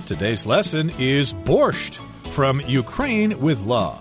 Today's lesson is borscht, from Ukraine with love.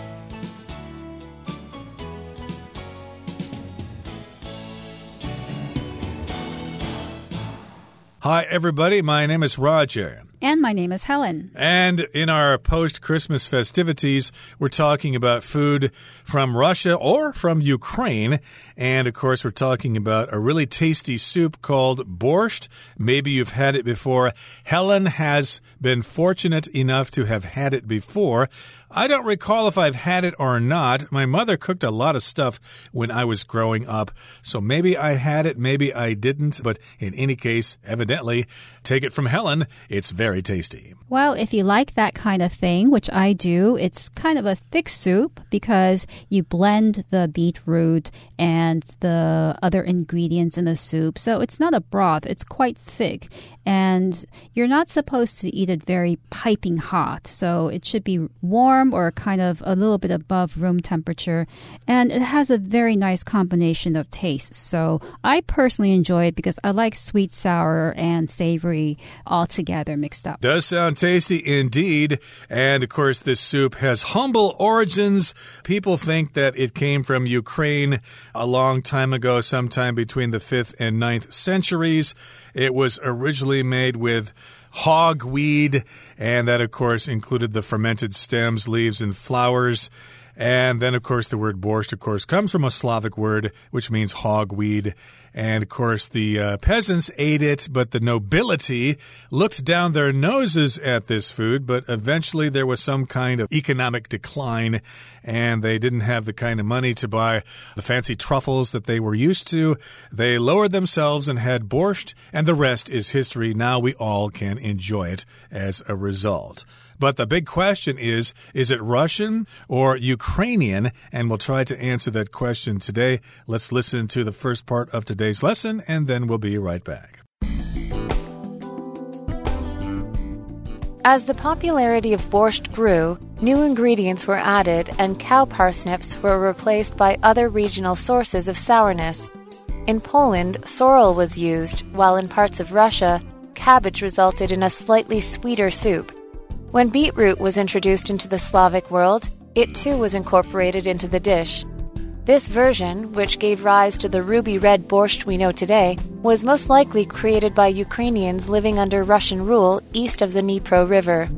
Hi, everybody. My name is Roger. And my name is Helen. And in our post-Christmas festivities, we're talking about food from Russia or from Ukraine. And, of course, we're talking about a really tasty soup called borscht. Maybe you've had it before. Helen has been fortunate enough to have had it before. I don't recall if I've had it or not. My mother cooked a lot of stuff when I was growing up. So maybe I had it, maybe I didn't. But in any case, evidently, take it from Helen, it's very tasty. Well, if you like that kind of thing, which I do, it's kind of a thick soup because you blend the beetroot and the other ingredients in the soup. So it's not a broth. It's quite thick. And you're not supposed to eat it very piping hot. So it should be warm or kind of a little bit above room temperature. And it has a very nice combination of tastes. So I personally enjoy it because I like sweet, sour, and savory all together mixed up. Does sound tasty indeed. And of course, this soup has humble origins. People think that it came from Ukraine a long time ago, sometime between the 5th and 9th centuries. It was originally made with hogweed, and that, of course, included the fermented stems, leaves, and flowers. And then, of course, the word borscht, of course, comes from a Slavic word, which means hogweed. And, of course, the peasants ate it, but the nobility looked down their noses at this food. But eventually there was some kind of economic decline, and they didn't have the kind of money to buy the fancy truffles that they were used to. They lowered themselves and had borscht, and the rest is history. Now we all can enjoy it as a result. But the big question is it Russian or Ukrainian? And we'll try to answer that question today. Let's listen to the first part of today's lesson, and then we'll be right back. As the popularity of borscht grew, new ingredients were added and cow parsnips were replaced by other regional sources of sourness. In Poland, sorrel was used, while in parts of Russia, cabbage resulted in a slightly sweeter soup. When beetroot was introduced into the Slavic world, it too was incorporated into the dish. This version, which gave rise to the ruby red borscht we know today, was most likely created by Ukrainians living under Russian rule east of the Dnipro River.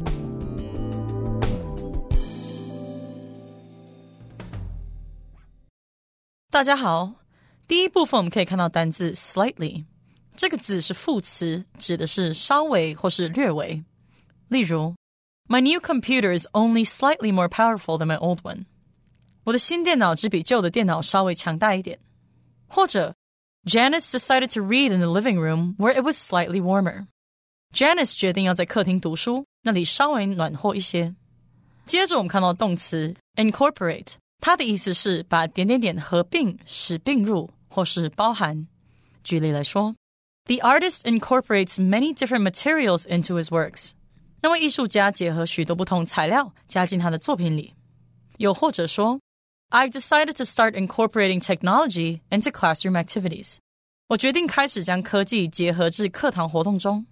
"大家好，第一部分我们可以看到单字 slightly， 这个字是副词，指的是稍微或是略微。例如My new computer is only slightly more powerful than my old one. 我的新电脑只比旧的電腦稍微強大一點。或者 Janice decided to read in the living room where it was slightly warmer. Janice 決定要在客廳讀書，那裡稍微暖和一些。接着我們看到動詞 incorporate， 它的意思是把點點點合併，使併入或是包含。舉例來說 The artist incorporates many different materials into his works.那位藝術家結合許多不同材料加進他的作品裡。又或者說 I've decided to start incorporating technology into classroom activities. 我決定開始將科技結合至課堂活動中。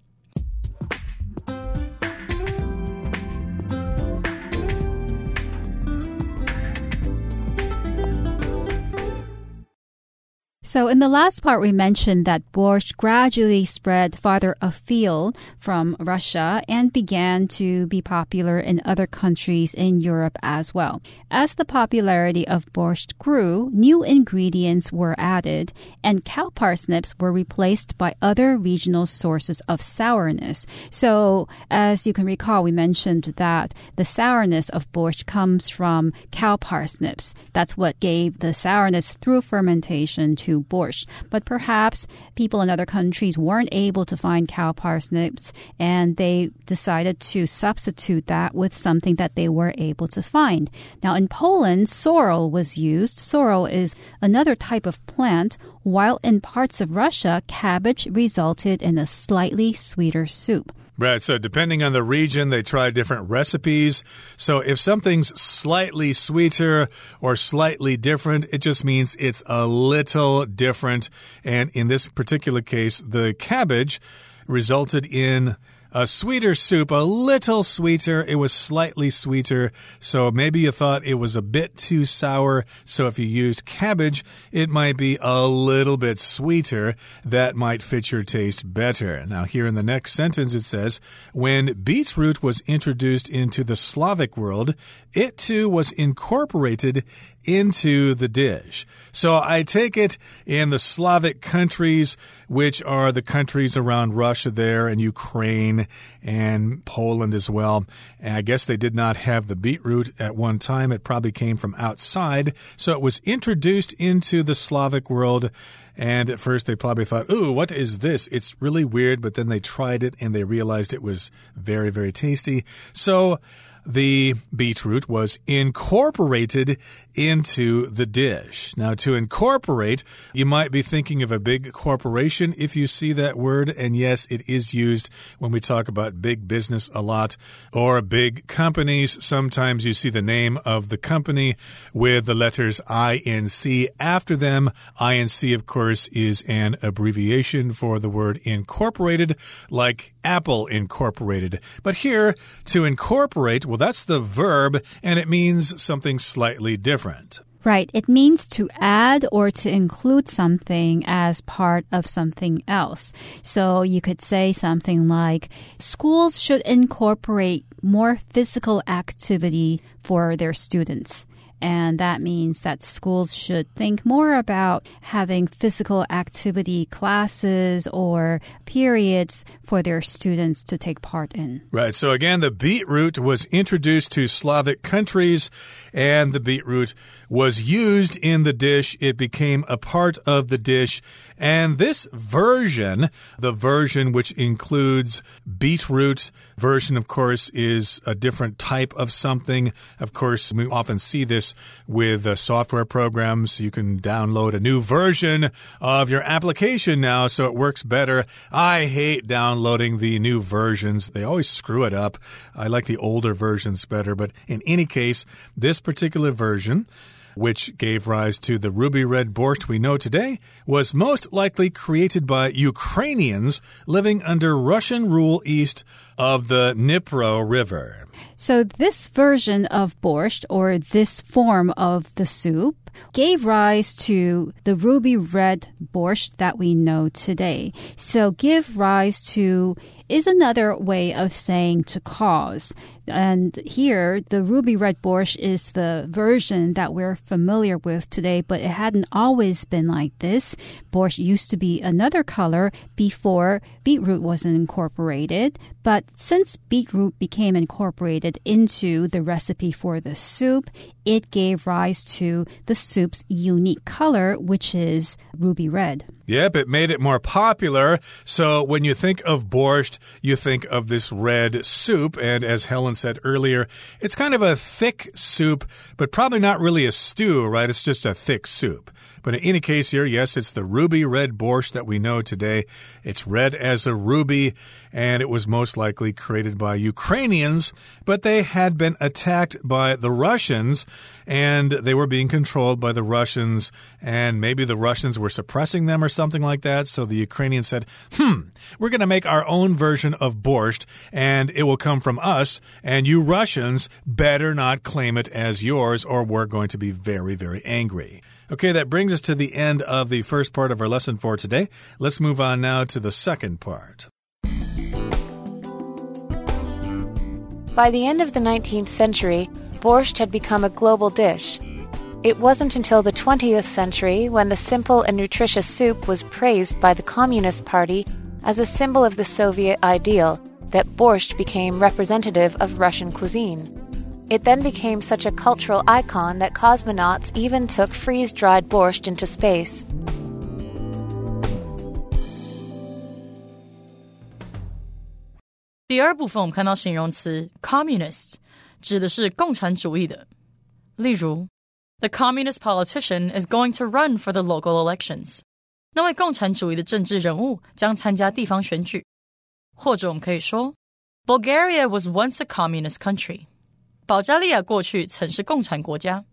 So in the last part, we mentioned that borscht gradually spread farther afield from Russia and began to be popular in other countries in Europe as well. As the popularity of borscht grew, new ingredients were added, and cow parsnips were replaced by other regional sources of sourness. So as you can recall, we mentioned that the sourness of borscht comes from cow parsnips. That's what gave the sourness through fermentation to borscht. But perhaps people in other countries weren't able to find cow parsnips, and they decided to substitute that with something that they were able to find. Now, in Poland, sorrel was used. Sorrel is another type of plant, while in parts of Russia, cabbage resulted in a slightly sweeter soup. Right, so depending on the region, they try different recipes. So if something's slightly sweeter or slightly different, it just means it's a little different. And in this particular case, the cabbage resulted in A sweeter soup, a little sweeter. It was slightly sweeter, so maybe you thought it was a bit too sour. So if you used cabbage, it might be a little bit sweeter. That might fit your taste better. Now, here in the next sentence, it says, when beetroot was introduced into the Slavic world, it too was incorporated into the dish. So I take it in the Slavic countries, which are the countries around Russia there and Ukraine and Poland as well. And I guess they did not have the beetroot at one time. It probably came from outside. So it was introduced into the Slavic world. And at first they probably thought, ooh, what is this? It's really weird. But then they tried it and they realized it was very, very tasty. So the beetroot was incorporated into the dish. Now, to incorporate, you might be thinking of a big corporation if you see that word. And yes, it is used when we talk about big business a lot, or big companies. Sometimes you see the name of the company with the letters INC after them. INC, of course, is an abbreviation for the word incorporated, like Apple Incorporated. But here, to incorporate, well, that's the verb, and it means something slightly different. Right. It means to add or to include something as part of something else. So you could say something like, schools should incorporate more physical activity for their students. And that means that schools should think more about having physical activity classes or periods for their students to take part in. Right. So again, the beetroot was introduced to Slavic countries, and the beetroot was used in the dish. It became a part of the dish. And this version, the version which includes beetroot version, of course, is a different type of something. Of course, we often see this with software programs. You can download a new version of your application now, so it works better. I hate downloading the new versions. They always screw it up. I like the older versions better. But in any case, this particular version, which gave rise to the ruby red borscht we know today, was most likely created by Ukrainians living under Russian rule east of the Dnipro River. So this version of borscht, or this form of the soup, gave rise to the ruby red borscht that we know today. So give rise to is another way of saying to cause. And here, the ruby red borscht is the version that we're familiar with today, but it hadn't always been like this. Borscht used to be another color before beetroot was incorporated. But since beetroot became incorporated into the recipe for the soup, it gave rise to the soup's unique color, which is ruby red. Yep, it made it more popular. So when you think of borscht, you think of this red soup. And as Helen said earlier, it's kind of a thick soup, but probably not really a stew, right? It's just a thick soup. But in any case here, yes, it's the ruby red borscht that we know today. It's red as a ruby, and it was most likely created by Ukrainians, but they had been attacked by the Russians, and they were being controlled by the Russians, and maybe the Russians were suppressing them or something like that. So the Ukrainians said, we're going to make our own version of borscht, and it will come from us, and you Russians better not claim it as yours, or we're going to be very, very angry. Okay, that brings us to the end of the first part of our lesson for today. Let's move on now to the second part. By the end of the 19th century, borscht had become a global dish. It wasn't until the 20th century when the simple and nutritious soup was praised by the Communist Party as a symbol of the Soviet ideal that borscht became representative of Russian cuisine. It then became such a cultural icon that cosmonauts even took freeze-dried borscht into space. 第二部分我们看到形容词 communist 指的是共产主义的。例如 The communist politician is going to run for the local elections. 那位共产主义的政治人物将参加地方选舉。或者我们可以说 Bulgaria was once a communist country. 保加利亞過去曾是共產國家。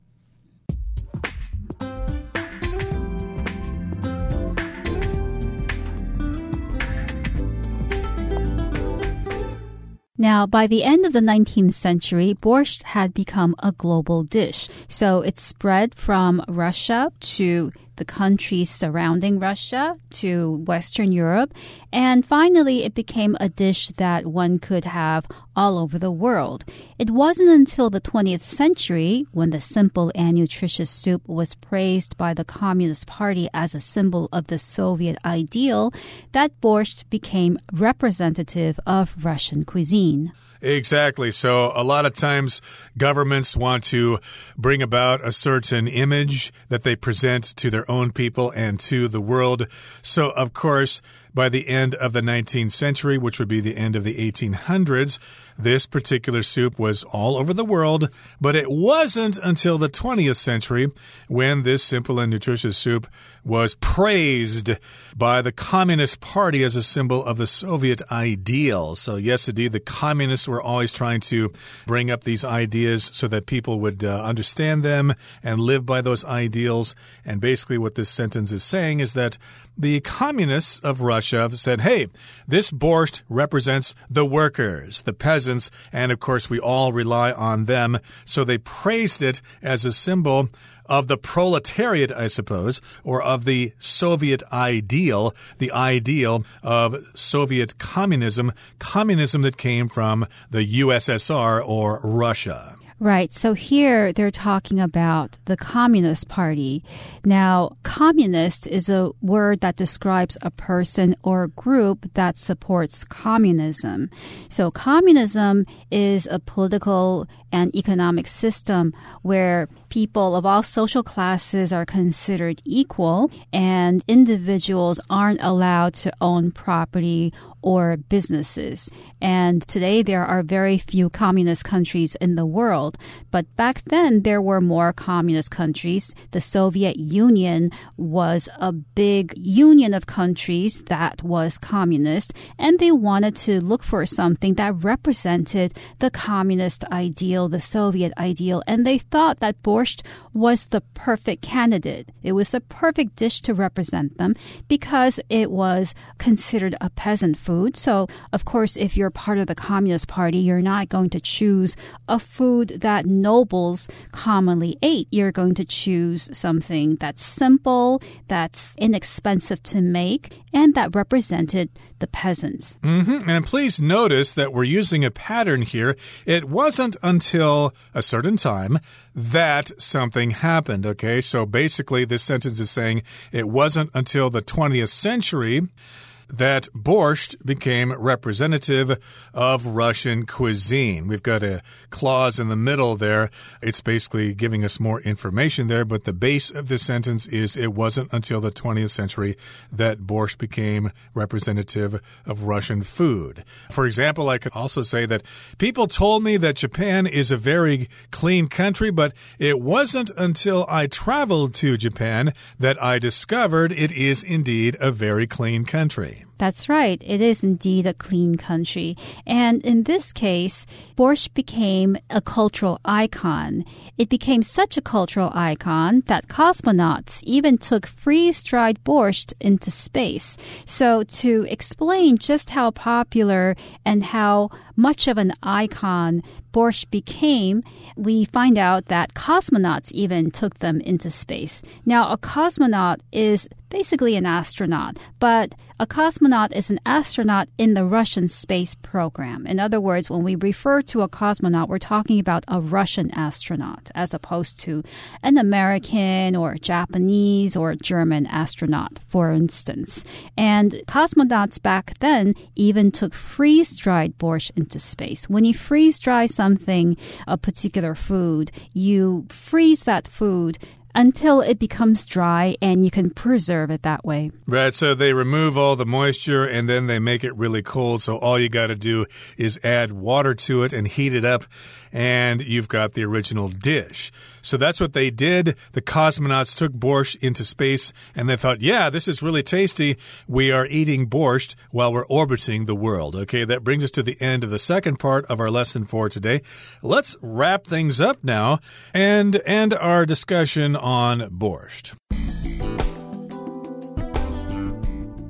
Now, by the end of the 19th century, borscht had become a global dish. So it spread from Russia to the countries surrounding Russia to Western Europe. And finally, it became a dish that one could have all over the world. It wasn't until the 20th century, when the simple and nutritious soup was praised by the Communist Party as a symbol of the Soviet ideal, that borscht became representative of Russian cuisine. Exactly. So a lot of times governments want to bring about a certain image that they present to their own people and to the world. So, of course, by the end of the 19th century, which would be the end of the 1800s, this particular soup was all over the world, but it wasn't until the 20th century when this simple and nutritious soup was praised by the Communist Party as a symbol of the Soviet ideal. So yes, indeed, the communists were always trying to bring up these ideas so that people would understand them and live by those ideals. And basically what this sentence is saying is that the communists of Russia said, hey, this borscht represents the workers, the peasants, and of course we all rely on them. So they praised it as a symbol of the proletariat, I suppose, or of the Soviet ideal, the ideal of Soviet communism, communism that came from the USSR or Russia. Right. So here they're talking about the Communist Party. Now, communist is a word that describes a person or group that supports communism. So communism is a political and economic system where people of all social classes are considered equal and individuals aren't allowed to own property or businesses. And today there are very few communist countries in the world. But back then there were more communist countries. The Soviet Union was a big union of countries that was communist, and they wanted to look for something that represented the communist ideal, the Soviet ideal, and they thought that borscht was the perfect candidate. It was the perfect dish to represent them because it was considered a peasant food. So, of course, if you're part of the Communist Party, you're not going to choose a food that nobles commonly ate. You're going to choose something that's simple, that's inexpensive to make, and that represented the peasants. And please notice that we're using a pattern here. It wasn't until a certain time that something happened, okay? So basically this sentence is saying it wasn't until the 20th century that borscht became representative of Russian cuisine. We've got a clause in the middle there. It's basically giving us more information there, but the base of this sentence is it wasn't until the 20th century that borscht became representative of Russian food. For example, I could also say that people told me that Japan is a very clean country, but it wasn't until I traveled to Japan that I discovered it is indeed a very clean country. That's right. It is indeed a clean country. And in this case, borscht became a cultural icon. It became such a cultural icon that cosmonauts even took freeze-dried borscht into space. So to explain just how popular and how much of an icon borscht became, we find out that cosmonauts even took them into space. Now, a cosmonaut is basically an astronaut, but a cosmonaut is an astronaut in the Russian space program. In other words, when we refer to a cosmonaut, we're talking about a Russian astronaut as opposed to an American or Japanese or German astronaut, for instance. And cosmonauts back then even took freeze-dried borscht into space. When you freeze-dry something, a particular food, you freeze that food until it becomes dry and you can preserve it that way. Right, so they remove all the moisture and then they make it really cold. So all you got to do is add water to it and heat it up and you've got the original dish. So that's what they did. The cosmonauts took borscht into space and they thought, yeah, this is really tasty. We are eating borscht while we're orbiting the world. Okay, that brings us to the end of the second part of our lesson for today. Let's wrap things up now and end our discussion on borscht.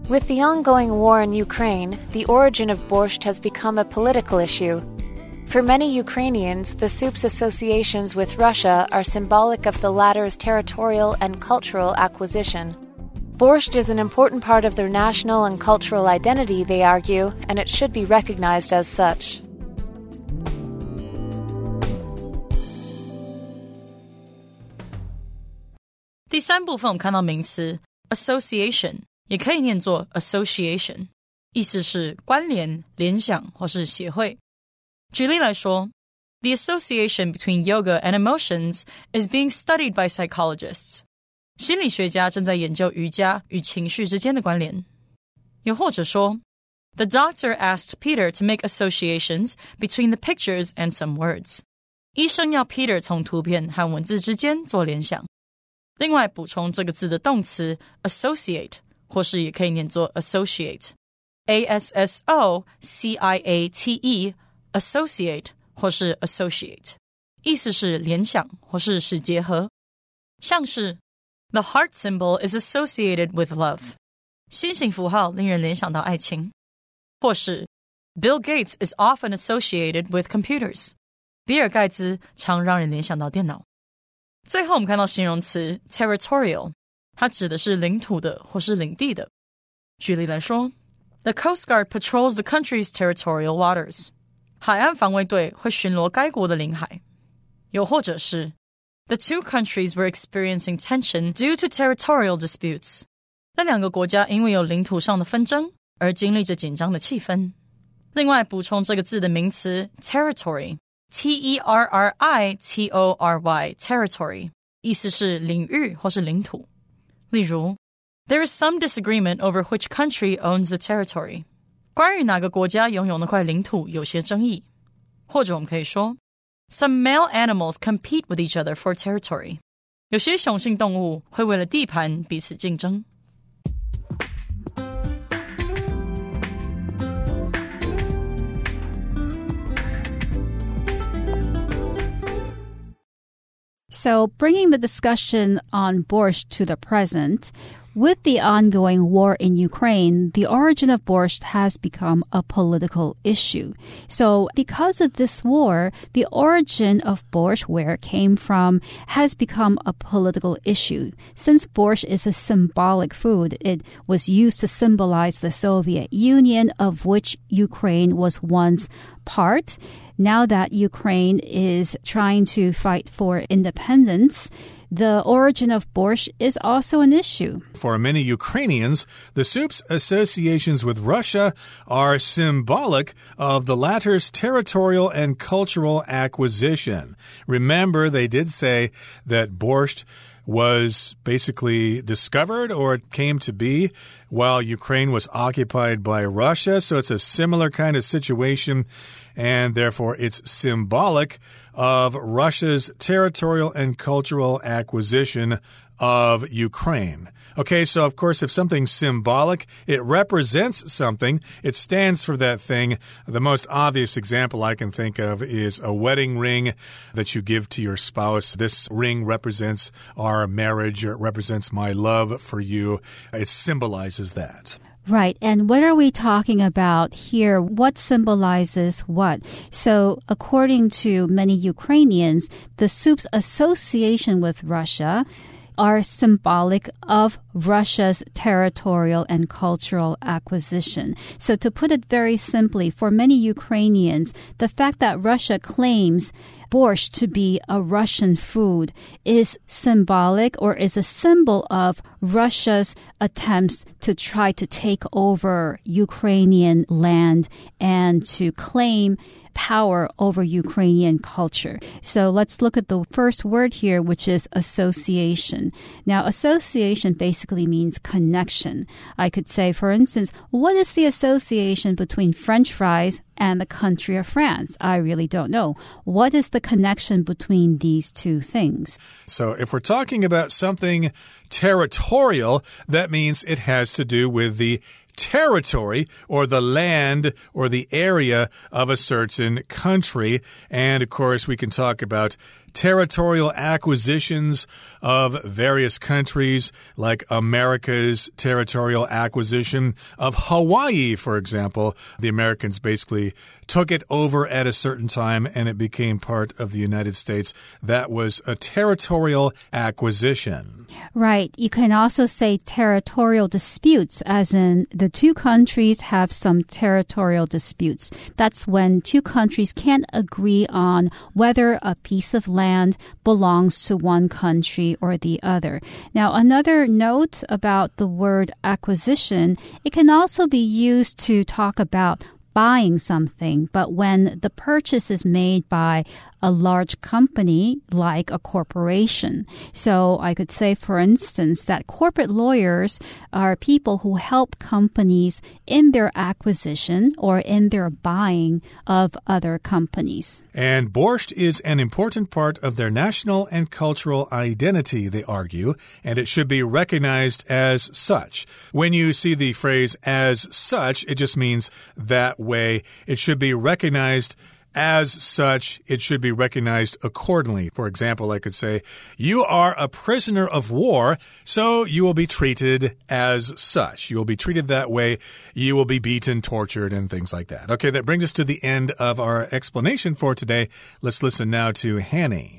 With the ongoing war in Ukraine, the origin of borscht has become a political issue. For many Ukrainians, the soup's associations with Russia are symbolic of the latter's territorial and cultural acquisition. Borscht is an important part of their national and cultural identity, they argue, and it should be recognized as such. "第三部分我们看到名詞 association 也可以念作 association， 意思是關聯、聯想或是協會。舉例來說 The association between yoga and emotions is being studied by psychologists. 心理學家正在研究瑜伽與情緒之間的關聯。又或者說 The doctor asked Peter to make associations between the pictures and some words. 醫生要 Peter 從圖片和文字之間做聯想。另外補充這個字的動詞 associate 或是也可以念作 associate A-S-S-O-C-I-A-T-E associate 或是 associate 意思是聯想或是使結合。像是 The heart symbol is associated with love 心形符號令人聯想到愛情。或是 Bill Gates is often associated with computers 比爾蓋茨常讓人聯想到電腦。最後我們看到形容詞 territorial 它指的是領土的或是領地的。舉例來說 The Coast Guard patrols the country's territorial waters 海岸防衛隊會巡邏該國的領海。又或者是 The two countries were experiencing tension due to territorial disputes 那兩個國家因為有領土上的紛爭而經歷着緊張的氣氛。另外補充這個字的名詞 territory T-E-R-R-I-T-O-R-Y territory 意思是領域或是領土。例如 There is some disagreement over which country owns the territory 關於哪個國家擁有那塊領土有些爭議。或者我們可以說 Some male animals compete with each other for territory 有些雄性動物會為了地盤彼此競爭。 So, bringing the discussion on borscht to the present, with the ongoing war in Ukraine, the origin of borscht has become a political issue. So, because of this war, the origin of borscht, where it came from, has become a political issue. Since borscht is a symbolic food, it was used to symbolize the Soviet Union, of which Ukraine was once part. Now that Ukraine is trying to fight for independence, the origin of borscht is also an issue. For many Ukrainians, the soup's associations with Russia are symbolic of the latter's territorial and cultural acquisition. Remember, they did say that borscht was basically discovered or it came to be while Ukraine was occupied by Russia. So it's a similar kind of situation, and therefore it's symbolic of Russia's territorial and cultural acquisition of Ukraine. Okay, so of course, if something's symbolic, it represents something. It stands for that thing. The most obvious example I can think of is a wedding ring that you give to your spouse. This ring represents our marriage, or it represents my love for you. It symbolizes that. Right. And what are we talking about here? What symbolizes what? So, according to many Ukrainians, the soup's association with Russia are symbolic of Russia's territorial and cultural acquisition. So to put it very simply, for many Ukrainians, the fact that Russia claims borscht to be a Russian food is symbolic or is a symbol of Russia's attempts to try to take over Ukrainian land and to claim power over Ukrainian culture. So let's look at the first word here, which is association. Now, association basically means connection. I could say, for instance, what is the association between French fries and the country of France? I really don't know. What is the connection between these two things? So if we're talking about something territorial, that means it has to do with the territory or the land or the area of a certain country. And of course, we can talk about territorial acquisitions of various countries, like America's territorial acquisition of Hawaii, for example. The Americans basically took it over at a certain time and it became part of the United States. That was a territorial acquisition. Right. You can also say territorial disputes, as in the two countries have some territorial disputes. That's when two countries can't agree on whether a piece of land belongs to one country or the other. Now, another note about the word acquisition, it can also be used to talk about buying something, but when the purchase is made by a large company like a corporation. So I could say, for instance, that corporate lawyers are people who help companies in their acquisition or in their buying of other companies. And borscht is an important part of their national and cultural identity, they argue, and it should be recognized as such. When you see the phrase as such, it just means that way. It should be recognized as such. It should be recognized accordingly. For example, I could say, you are a prisoner of war, so you will be treated as such. You will be treated that way. You will be beaten, tortured, and things like that. Okay, that brings us to the end of our explanation for today. Let's listen now to Hanny.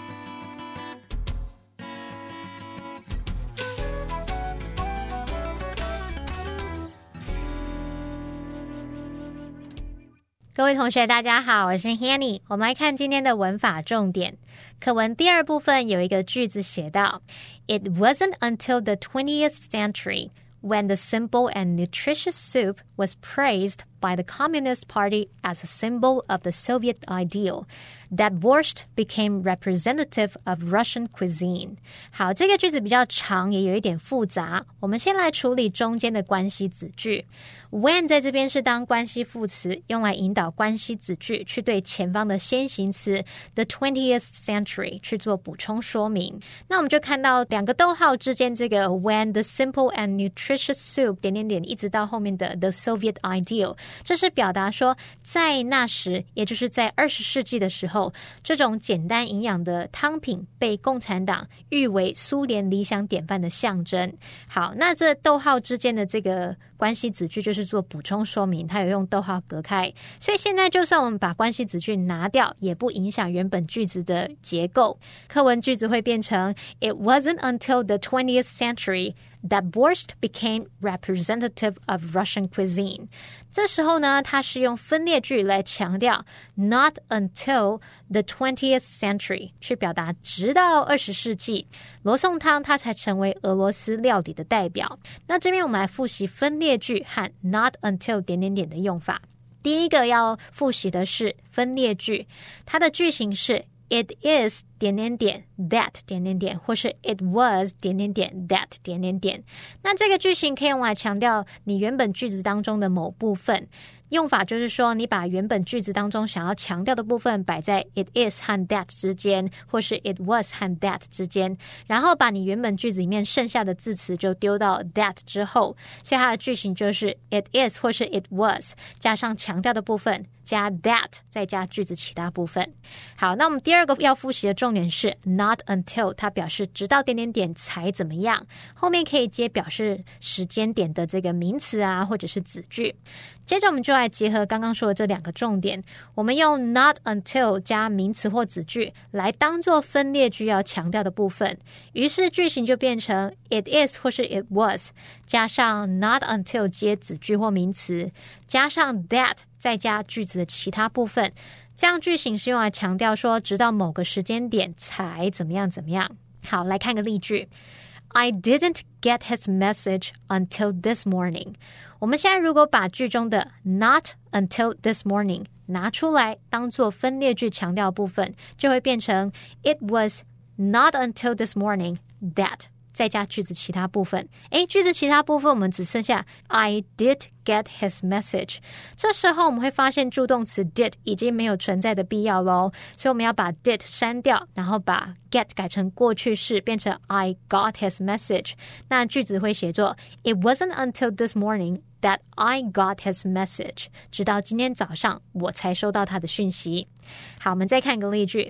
各位同學大家好，我是 Hanny。 我們來看今天的文法重點。課文第二部分有一個句子寫到 It wasn't until the 20th century when the simple and nutritious soup was praised by the Communist Party as a symbol of the Soviet ideal that borscht became representative of Russian cuisine. 好，這個句子比較長，也有一點複雜。我們先來處理中間的關係子句。When 在這邊是當關係副詞，用來引導關係子句去對前方的先行詞 the 20th century 去做補充說明。那我們就看到兩個逗號之間這個 when the simple and nutritious soup 點點點一直到後面的 the Soviet ideal， 這是表達說在那時，也就是在20世紀的時候，這種簡單營養的湯品被共產黨譽為蘇聯理想典範的象徵。好，那這逗號之間的這個關係子句就是做補充說明，它有用逗號隔開，所以現在就算我們把關係子句拿掉，也不影響原本句子的結構。課文句子會變成 It wasn't until the 20th century that borscht became representative of Russian cuisine. 這時候呢，它是用分列句來強調 not until the 20th century 去表達直到20世紀，羅宋湯它才成為俄羅斯料理的代表。那這邊我們來複習分列句和 not until 點點點的用法。第一個要複習的是分列句，它的句型是It is 點點點 that 點點點，或是 It was 點點點 that 點點點。那這個句型可以用來強調你原本句子當中的某部分。用法就是說，你把原本句子當中想要強調的部分擺在 it is 和 that 之間，或是 it was 和 that 之間，然後把你原本句子裡面剩下的字詞就丟到 that 之後，所以它的句型就是 it is 或是 it was 加上強調的部分，加 that 再加句子其他部分。好，那我們第二個要複習的重點是 not until， 它表示直到點點點才怎麼樣，後面可以接表示時間點的這個名詞啊，或者是子句。接着我們就來結合剛剛說的這兩個重點，我們用 not until 加名詞或子句來當做分列句要強調的部分，於是句型就變成 it is 或是 it was 加上 not until 接子句或名詞，加上 that 再加句子的其他部分，這樣句型是用來強調說直到某個時間點才怎麼樣怎麼樣。好，來看個例句。I didn't get his message until this morning. 我們現在如果把句中的 not until this morning 拿出來當做分列句強調部分，就會變成 It was not until this morning that 再加句子其他部分。句子其他部分我們只剩下 I did get his message。 這時候我們會發現助動詞 did 已經沒有存在的必要咯，所以我們要把 did 刪掉，然後把 get 改成過去式，變成 I got his message。 那句子會寫作 It wasn't until this morning that I got his message. 直到今天早上我才收到他的訊息。好，我們再看個例句。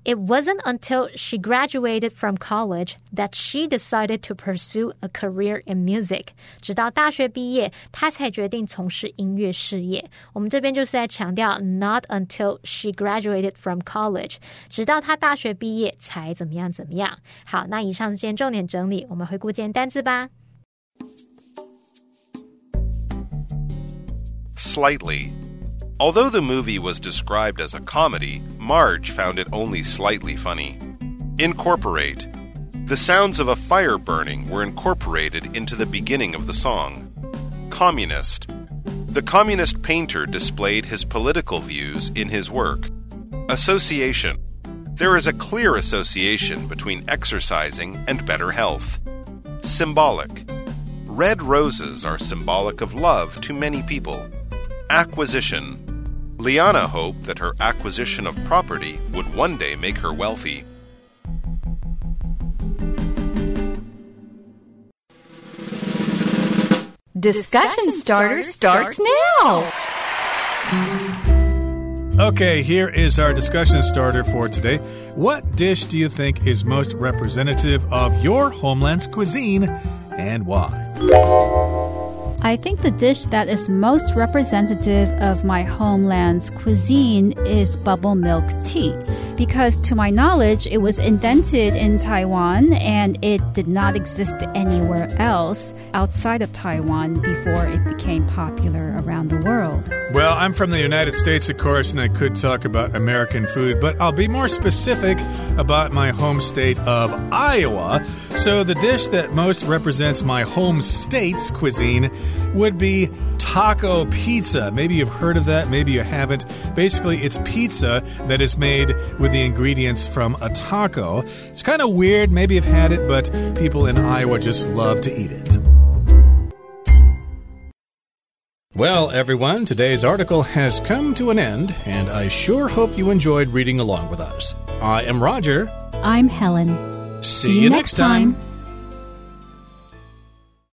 It wasn't until she graduated from college that she decided to pursue a career in music. 直到大学畢業，她才決定從事音樂事業。我們這邊就是在強調 not until she graduated from college， 直到她大學畢業才怎麼樣怎麼樣。好，那以上是今天重點整理，我們回顧今天單字吧。 Slightly. Although the movie was described as a comedy, Marge found it only slightly funny. Incorporate. The sounds of a fire burning were incorporated into the beginning of the song. Communist. The communist painter displayed his political views in his work. Association. There is a clear association between exercising and better health. Symbolic. Red roses are symbolic of love to many people. Acquisition. Liana hoped that her acquisition of property would one day make her wealthy. Discussion Starter starts now. Okay, here is our discussion starter for today. What dish do you think is most representative of your homeland's cuisine and why? I think the dish that is most representative of my homeland's cuisine is bubble milk tea. Because to my knowledge, it was invented in Taiwan and it did not exist anywhere else outside of Taiwan before it became popular around the world. Well, I'm from the United States, of course, and I could talk about American food, but I'll be more specific about my home state of Iowa. So the dish that most represents my home state's cuisine would be taco pizza. Maybe you've heard of that, maybe you haven't. Basically, it's pizza that is made with the ingredients from a taco. It's kind of weird, maybe you've had it, but people in Iowa just love to eat it. Well, everyone, today's article has come to an end, and I sure hope you enjoyed reading along with us. I am Roger. I'm Helen. See you next time.